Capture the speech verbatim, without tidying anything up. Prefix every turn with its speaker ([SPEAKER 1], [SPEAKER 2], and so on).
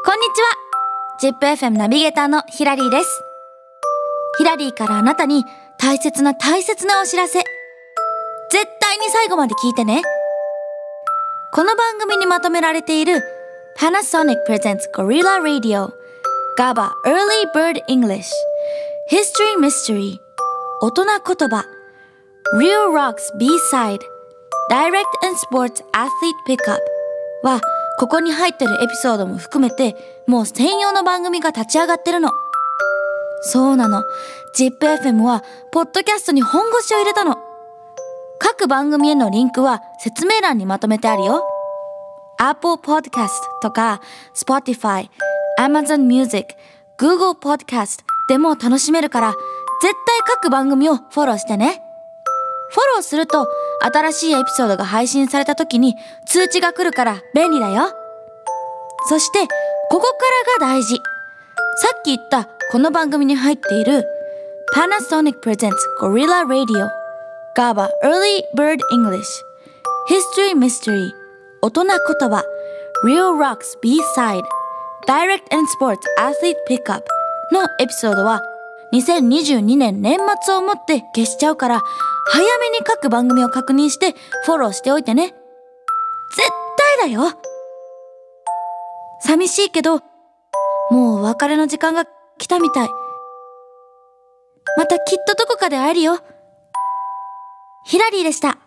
[SPEAKER 1] こんにちは。ジップエフエム ナビゲーターのヒラリーです。ヒラリーからあなたに大切な大切なお知らせ。絶対に最後まで聞いてね。この番組にまとめられている Panasonic Presents Gorilla Radio ガバ Early Bird English History Mystery 大人言葉 Real Rocks B-Side Direct and Sports Athlete Pickup はここに入ってるエピソードも含めてもう専用の番組が立ち上がってるの。そうなの。ジップエフエム はポッドキャストに本腰を入れたの。各番組へのリンクは説明欄にまとめてあるよ。Apple Podcast とか Spotify、Amazon Music、Google Podcast でも楽しめるから絶対各番組をフォローしてね。フォローすると新しいエピソードが配信された時に通知が来るから便利だよ。そしてここからが大事。さっき言ったこの番組に入っている Panasonic Presents Gorilla Radioガバ Early Bird English History Mystery 大人言葉 Real Rocks B-Side Direct and Sports Athlete Pickup のエピソードはにせんにじゅうにねん年末をもって消しちゃうから早めに各番組を確認してフォローしておいてね。絶対だよ。寂しいけどもうお別れの時間が来たみたい。またきっとどこかで会えるよ。ヒラリーでした。